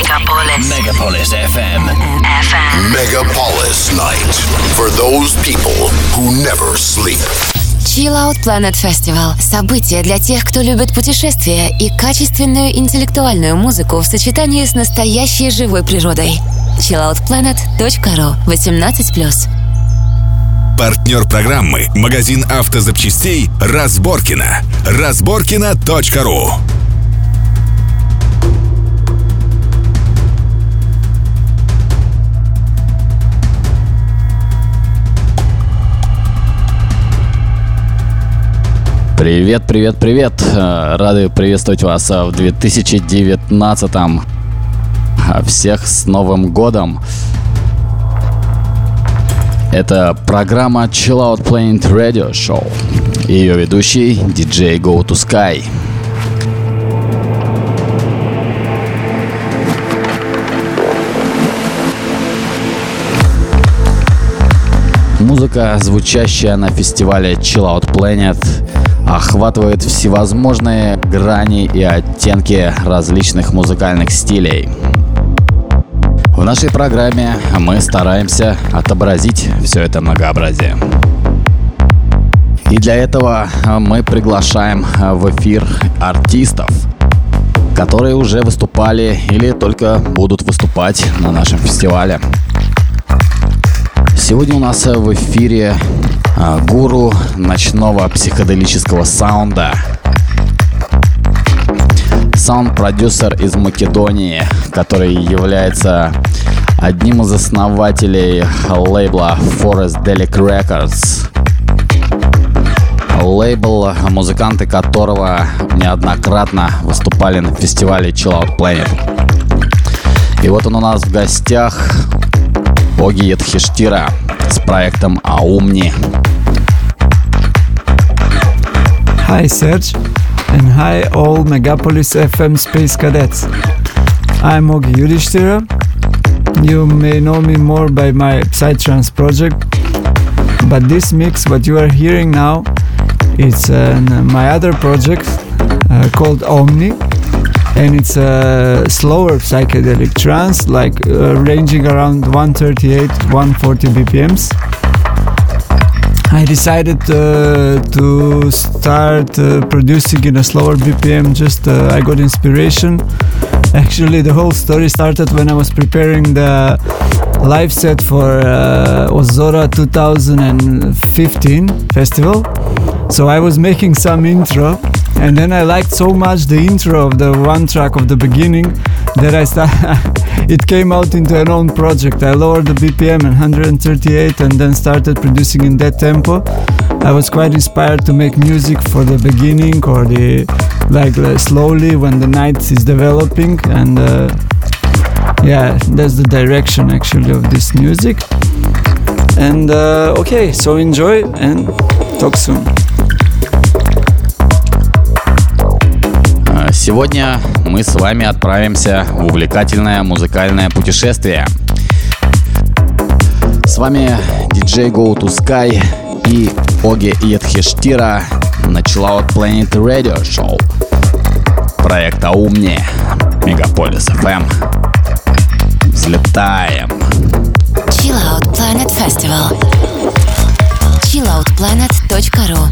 Megapolis FM. Megapolis Night. For those people who never sleep. Chill Out Planet Festival – событие для тех, кто любит путешествия и качественную интеллектуальную музыку в сочетании с настоящей живой природой. chilloutplanet.ru 18+. Партнер программы – магазин автозапчастей «Разборкино». Разборкино.ру. Привет, привет, привет! Рады приветствовать вас в 2019-м. Всех с Новым годом! Это программа Chill Out Planet Radio Show. Ее ведущий DJ Go to Sky. Музыка, звучащая на фестивале Chill Out Planet, охватывает всевозможные грани и оттенки различных музыкальных стилей. В нашей программе мы стараемся отобразить все это многообразие. И для этого мы приглашаем в эфир артистов, которые уже выступали или только будут выступать на нашем фестивале. Сегодня у нас в эфире гуру ночного психоделического саунда, саунд-продюсер из Македонии, который является одним из основателей лейбла Forestdelic Records. Лейбл, музыканты которого неоднократно выступали на фестивале Chill Out Planet. И вот он у нас в гостях, Оги Ядхиштира с проектом Аумни. Hi Serge, and hi all Megapolis FM Space Cadets. I'm Ogi Yudhishthira. You may know me more by my Psytrance project, but this mix, what you are hearing now, it's my other project called Omni, and it's a slower psychedelic trance, like ranging around 138-140 BPMs. I decided to start producing in a slower BPM. I got inspiration. Actually, the whole story started when I was preparing the live set for Ozora 2015 festival. So I was making some intro, and then I liked so much the intro of the one track of the beginning that it came out into an own project. I lowered the BPM and 138 and then started producing in that tempo. I was quite inspired to make music for the beginning or slowly when the night is developing, and that's the direction actually of this music. And okay, so enjoy and talk soon. Сегодня мы с вами отправимся в увлекательное музыкальное путешествие. С вами DJ Go to Sky и Оги Ядхиштира на Chill Out Planet Radio Show. Проект Аумни, Megapolis FM. Взлетаем! Chill Out Planet Festival. chilloutplanet.ru.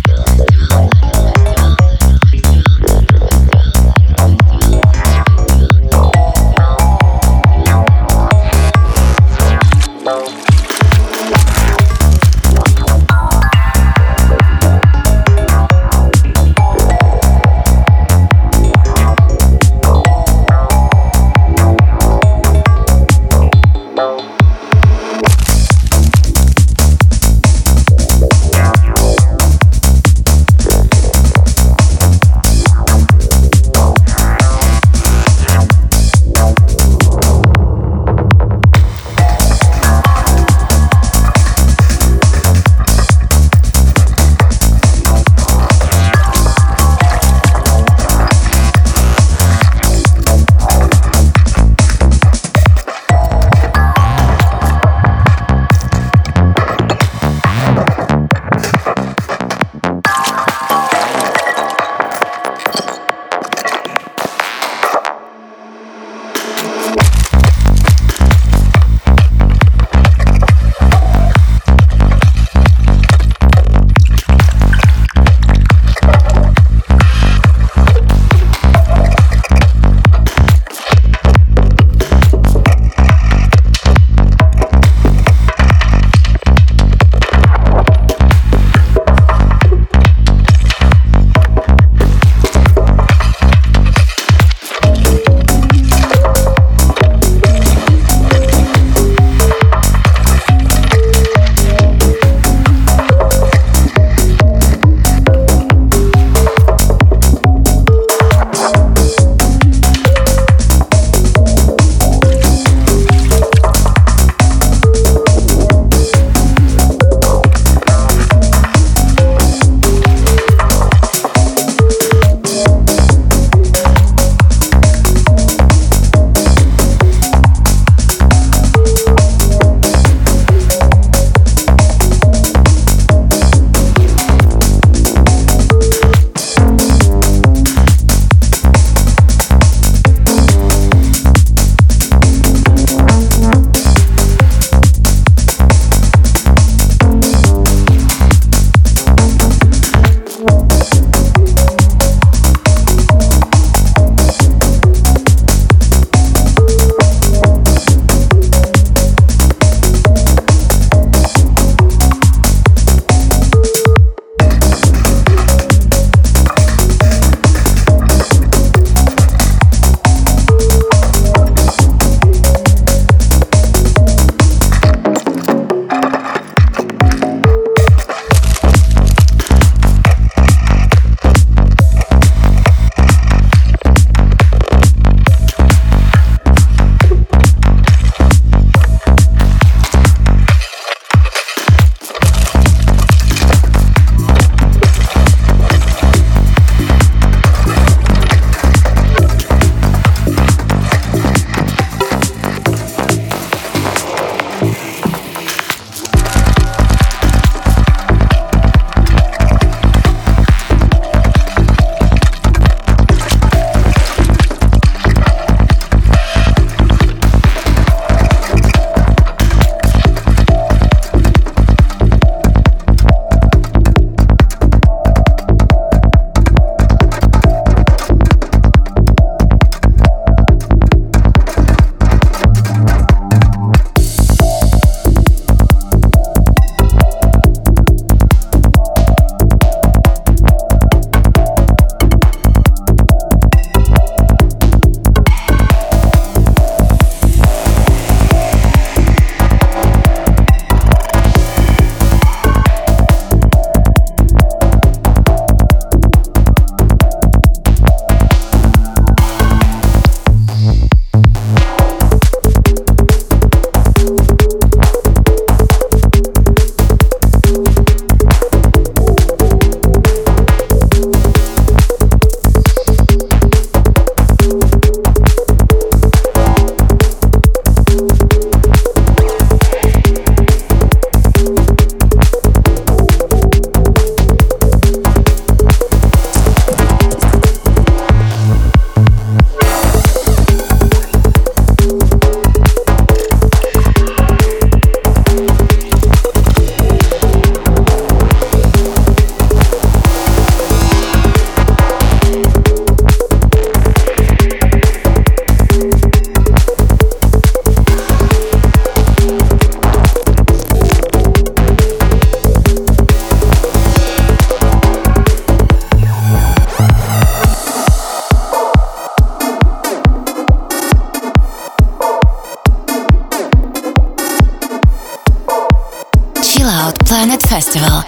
Planet Festival.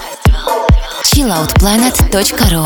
chilloutplanet.ru.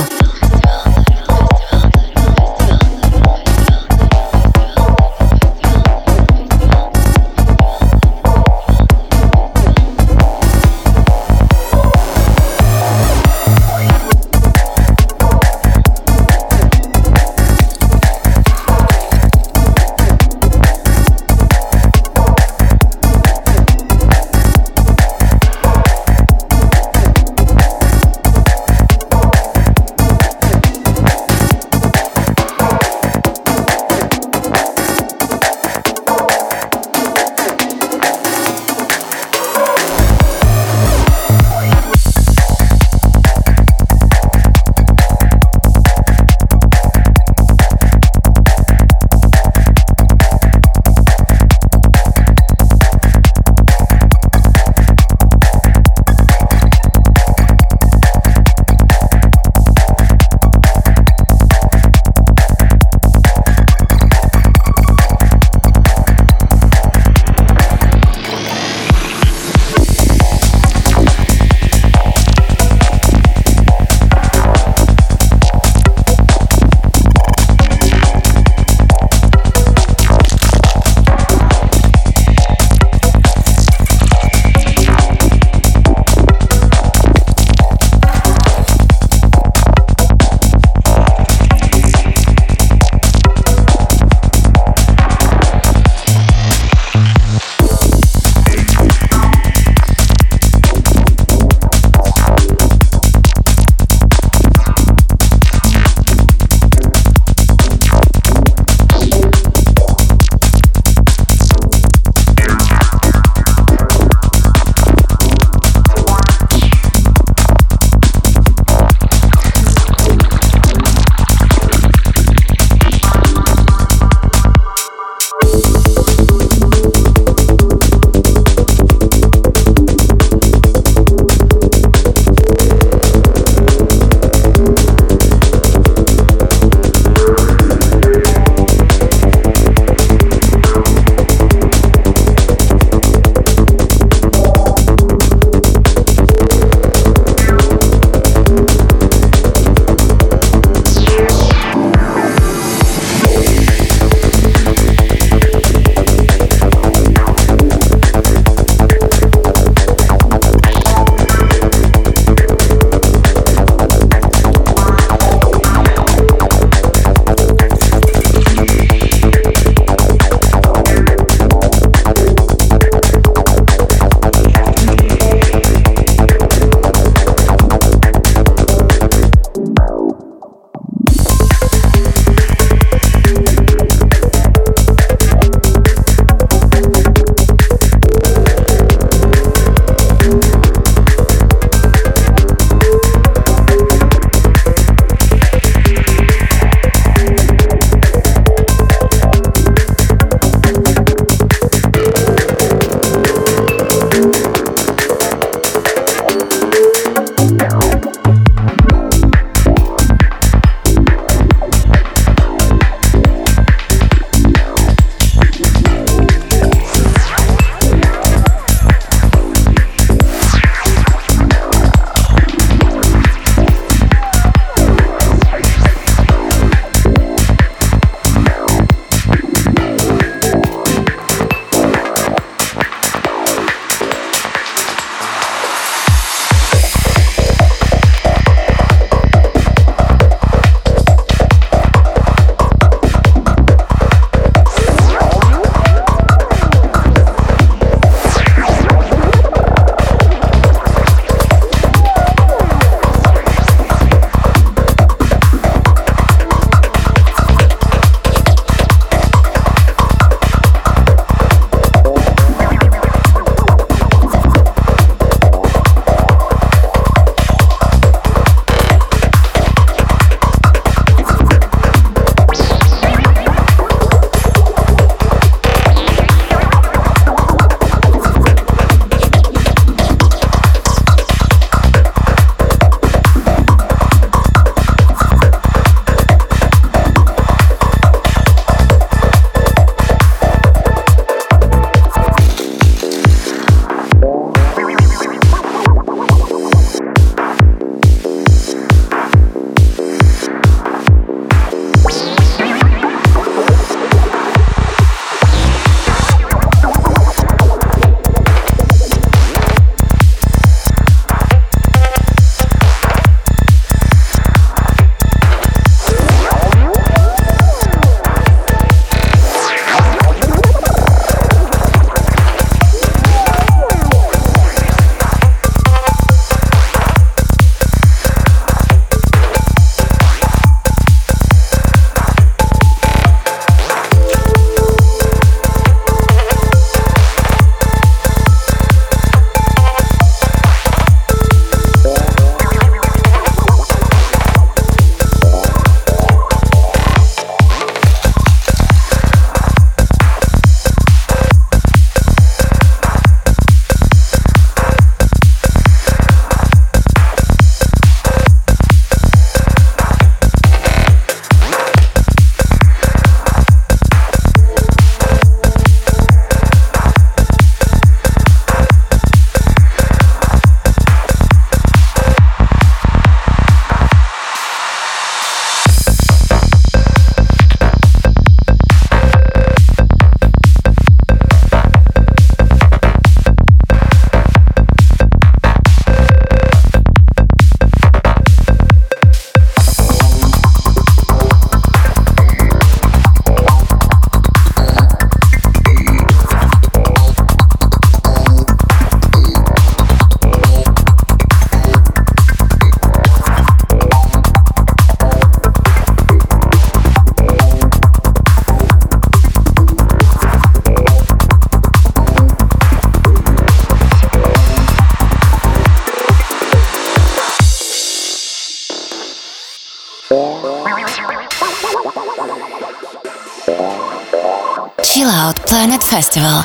Chill Out Planet Festival.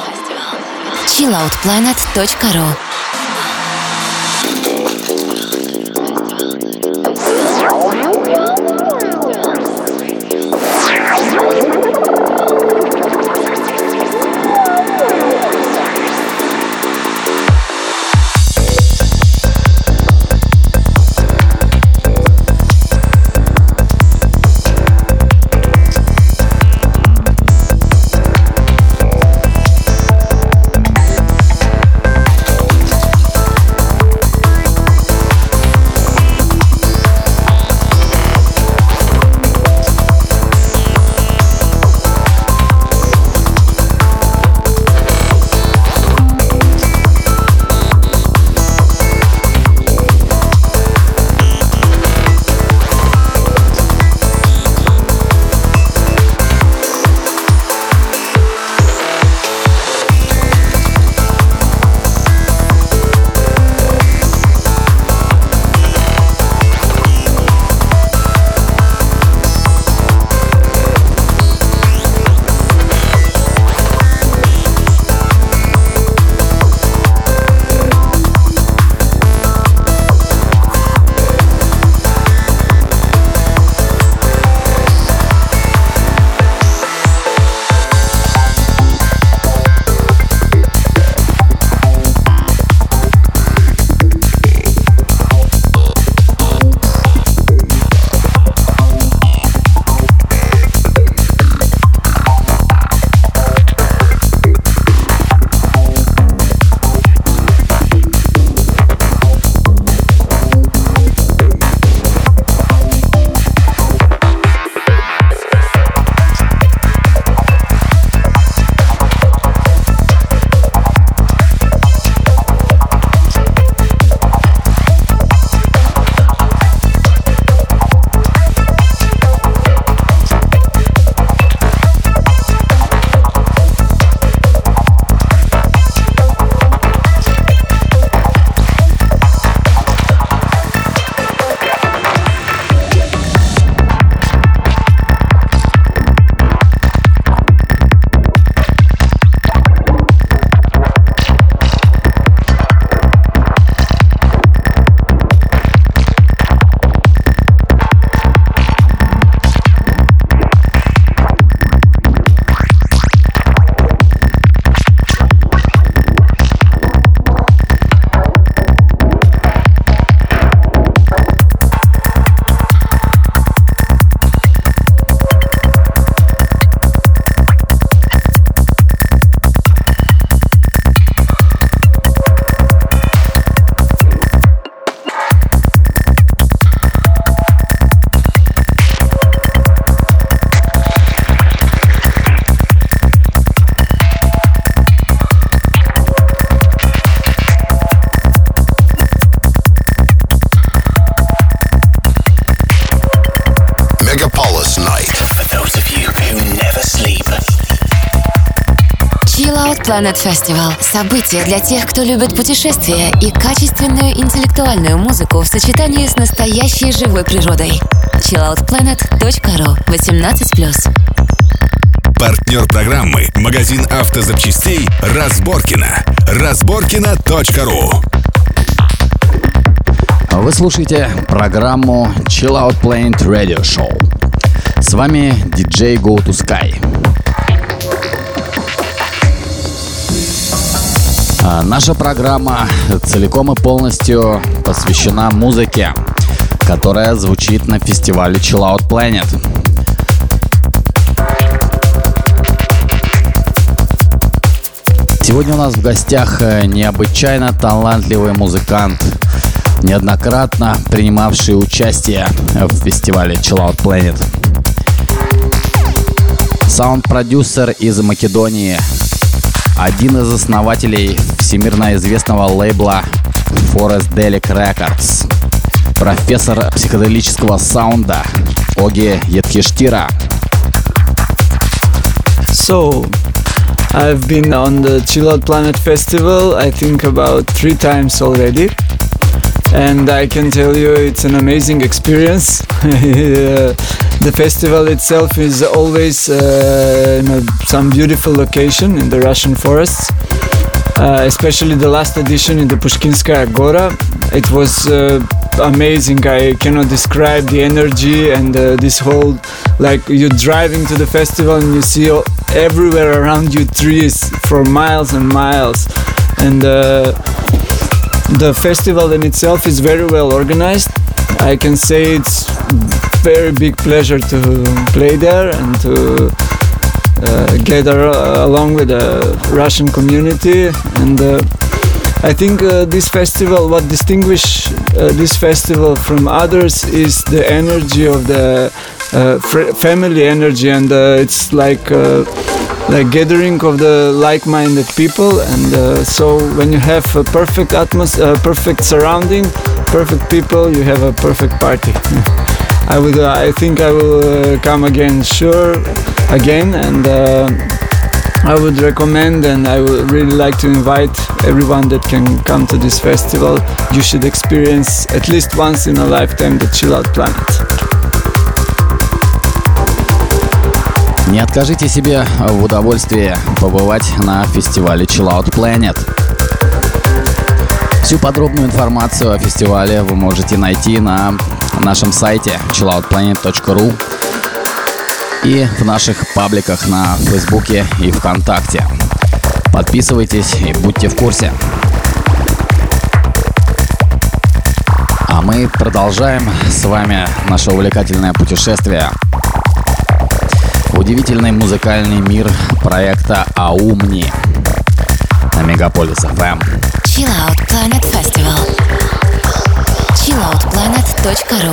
chilloutplanet.ru. Planet Festival – событие для тех, кто любит путешествия и качественную интеллектуальную музыку в сочетании с настоящей живой природой. chilloutplanet.ru 18+. Партнер программы – магазин автозапчастей «Разборкино». Разборкино.ру. Вы слушаете программу Chill Out Planet Radio Show. С вами DJ Go to Sky. Наша программа целиком и полностью посвящена музыке, которая звучит на фестивале Chill Out Planet. Сегодня у нас в гостях необычайно талантливый музыкант, неоднократно принимавший участие в фестивале Chill Out Planet. Саунд-продюсер из Македонии, один из основателей всемирно известного лейбла Forestdelic Records, профессор психоделического саунда Оги Едхиштира. So, I've been on the Chill Out Planet Festival, I think about 3 times already. and I can tell you it's an amazing experience. The festival itself is always in some beautiful location in the Russian forests. Especially the last edition in the Pushkinskaya Gora. It was amazing. I cannot describe the energy and this whole, like, you're driving to the festival and you see everywhere around you trees for miles and miles. And the festival in itself is very well organized. I can say it's very big pleasure to play there and to gather along with the Russian community. And I think this festival, what distinguishes this festival from others is the energy of the family energy, and it's like gathering of the like-minded people. And so when you have a perfect atmosphere, perfect surrounding, perfect people, you have a perfect party. I think I will come again, and I would recommend, and I would really like to invite everyone that can come to this festival. You should experience at least once in a lifetime the Chill Out Planet. Не откажите себе в удовольствии побывать на фестивале Chill Out Planet. Всю подробную информацию о фестивале вы можете найти на нашем сайте chilloutplanet.ru и в наших пабликах на Фейсбуке и ВКонтакте. Подписывайтесь и будьте в курсе. А мы продолжаем с вами наше увлекательное путешествие в удивительный музыкальный мир проекта Аумни на Мегаполис FM. Chill Out Planet Festival. chilloutplanet.ru.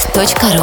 chilloutplanet.ru.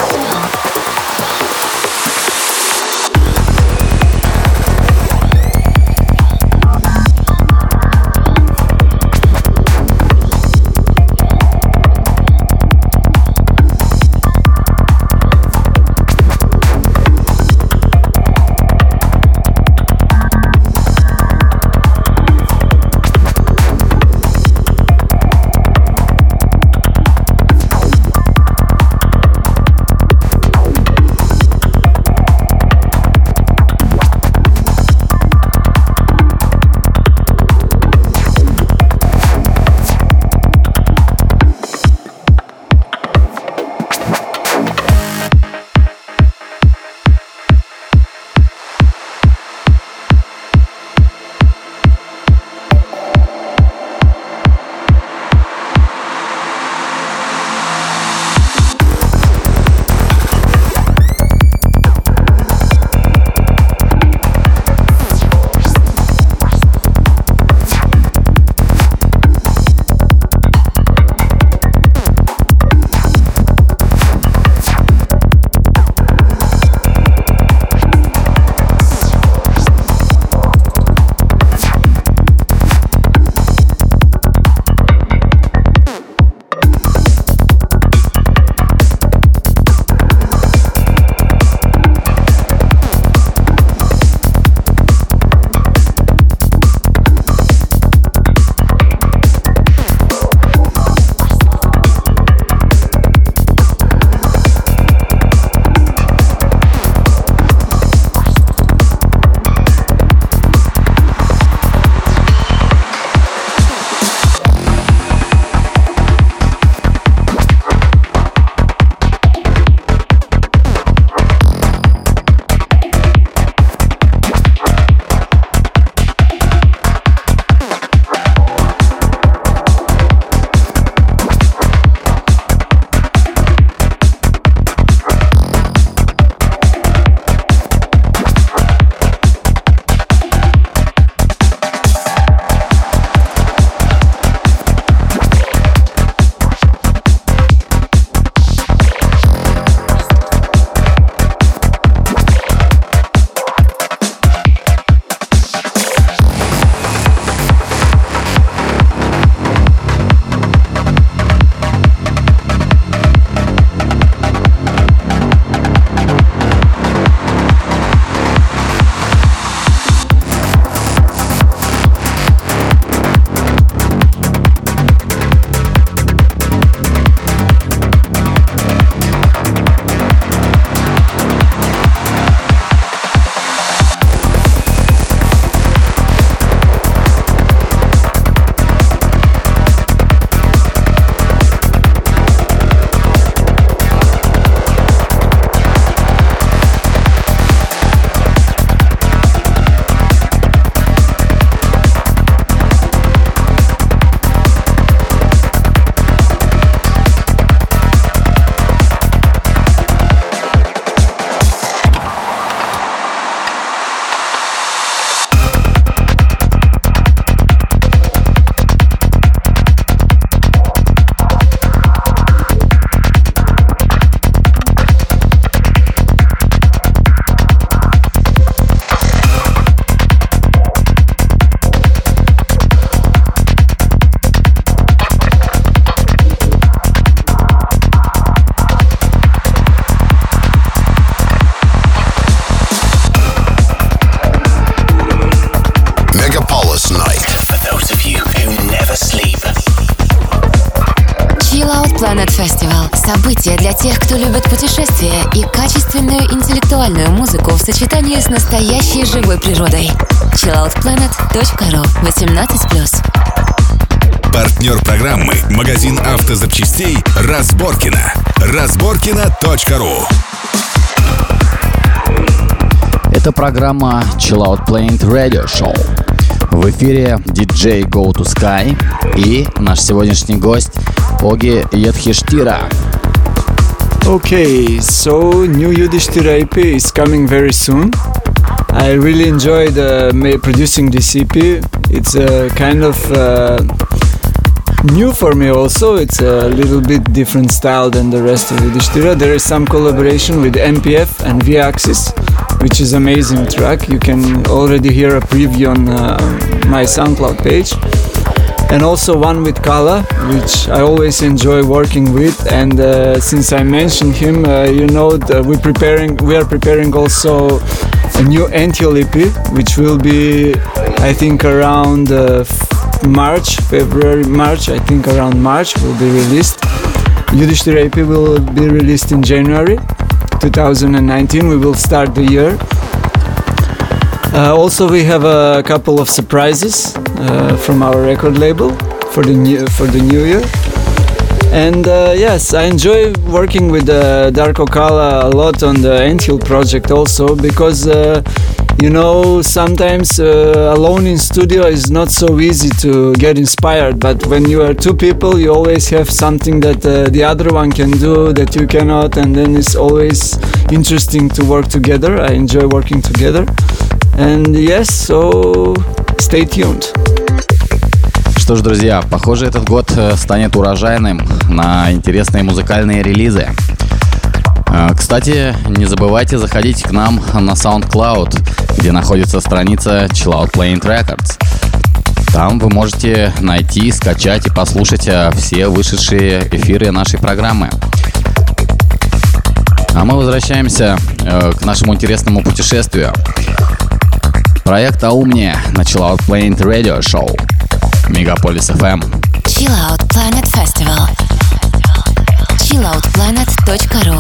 Planet Festival – событие для тех, кто любит путешествия и качественную интеллектуальную музыку в сочетании с настоящей живой природой. chilloutplanet.ru 18+. Партнер программы – магазин автозапчастей «Разборкино». Разборкино.ру. Это программа Chill Out Planet Radio Show. В эфире DJ Go to Sky и наш сегодняшний гость Оги Йодхиштира. Okay, so new Yudhishthira EP is coming very soon. I really enjoyed producing this EP. It's a kind of new for me also. It's a little bit different style than the rest of Yudhishthira. There is some collaboration with MPF and V-Axis, which is amazing track. You can already hear a preview on my SoundCloud page. And also one with Kala, which I always enjoy working with. And since I mentioned him, we are preparing also a new Anthill EP, which will be, I think, around March, I think around March will be released. Yudhishthira EP will be released in January 2019. We will start the year. Also, we have a couple of surprises from our record label for the new year. And yes, I enjoy working with Darko Kala a lot on the Anthill project also, because sometimes alone in studio is not so easy to get inspired, but when you are two people, you always have something that the other one can do that you cannot, and then it's always interesting to work together. I enjoy working together. And yes, so stay tuned. Что ж, друзья, похоже, этот год станет урожайным на интересные музыкальные релизы. Кстати, не забывайте заходить к нам на SoundCloud, где находится страница Chill Out Planet Records. Там вы можете найти, скачать и послушать все вышедшие эфиры нашей программы. А мы возвращаемся к нашему интересному путешествию. Проект «Аумния» на Chill Out Planet Radio Show. Мегаполис FM. Chill Out Planet Festival. chilloutplanet.ru.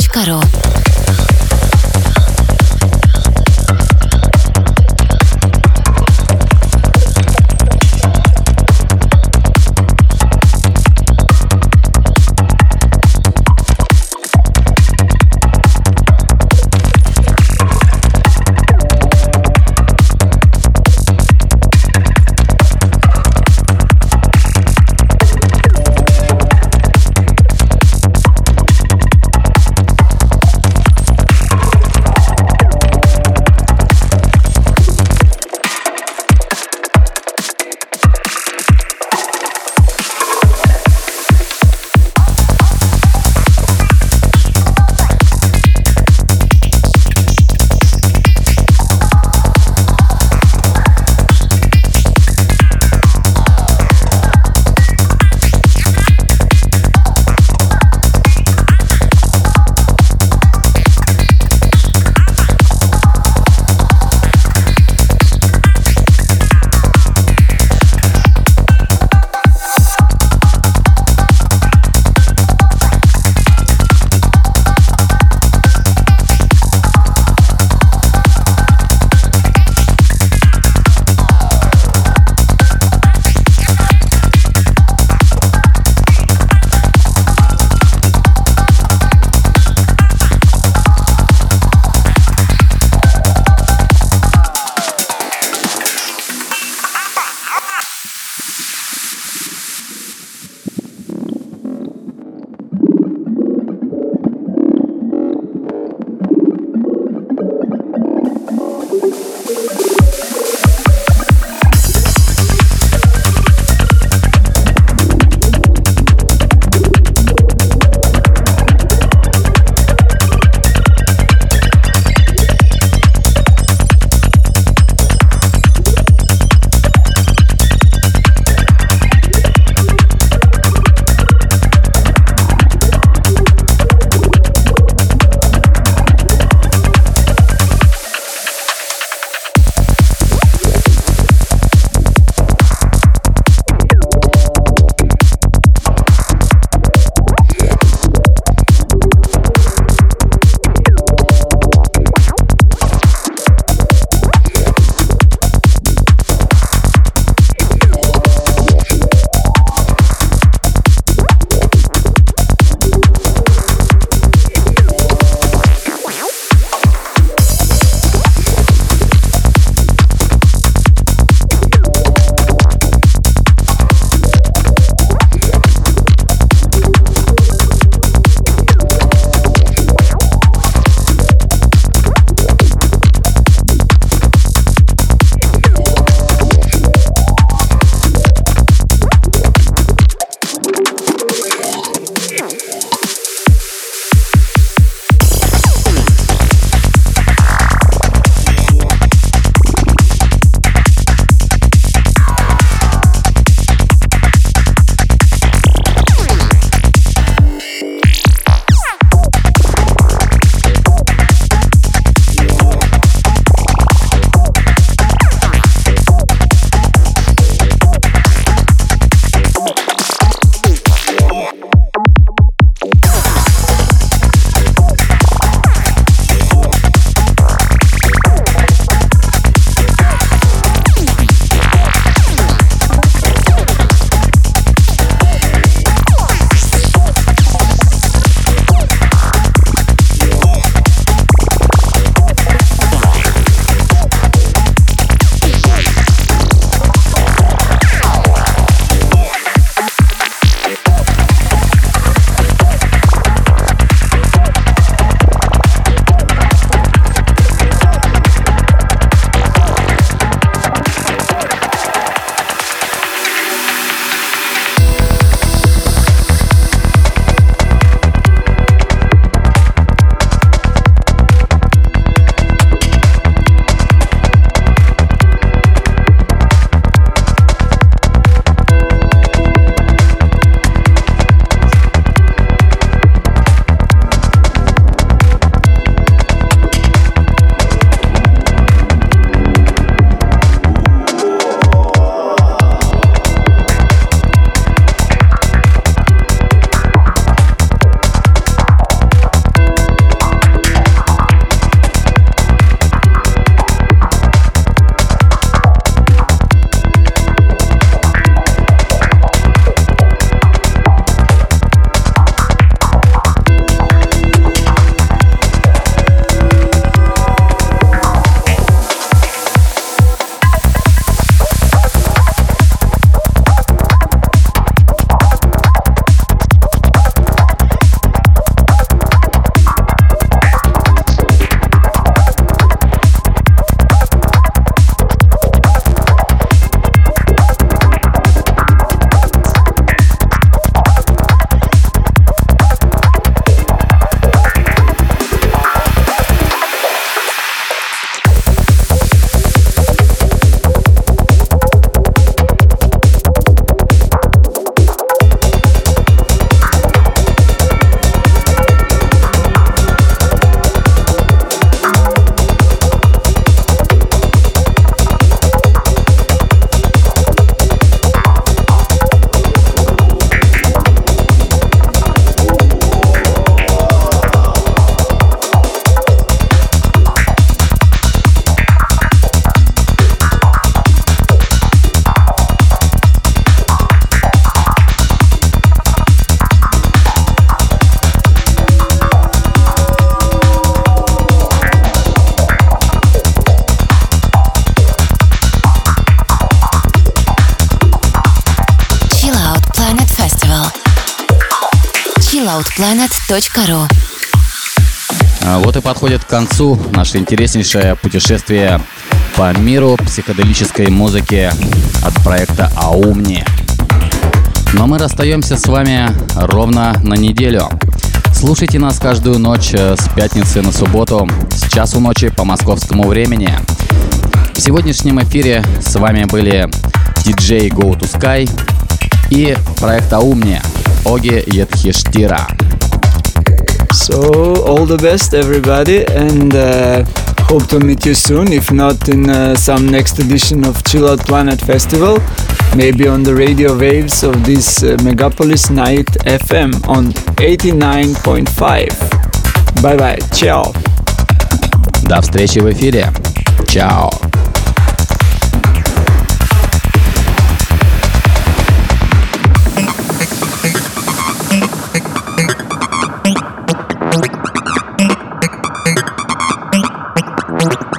chilaotplanet.ru. chilloutplanet.ru. Вот и подходит к концу наше интереснейшее путешествие по миру психоделической музыки от проекта Аумни. Но мы расстаемся с вами ровно на неделю. Слушайте нас каждую ночь с пятницы на субботу с часу ночи по московскому времени. В сегодняшнем эфире с вами были DJ Go to Sky и проект Аумни Оги Едхиштира. So, all the best, everybody, and hope to meet you soon, if not in some next edition of Chill Out Planet Festival, maybe on the radio waves of this Megapolis Night FM on 89.5. Bye-bye, ciao. До встречи в эфире. Чао. Thank you.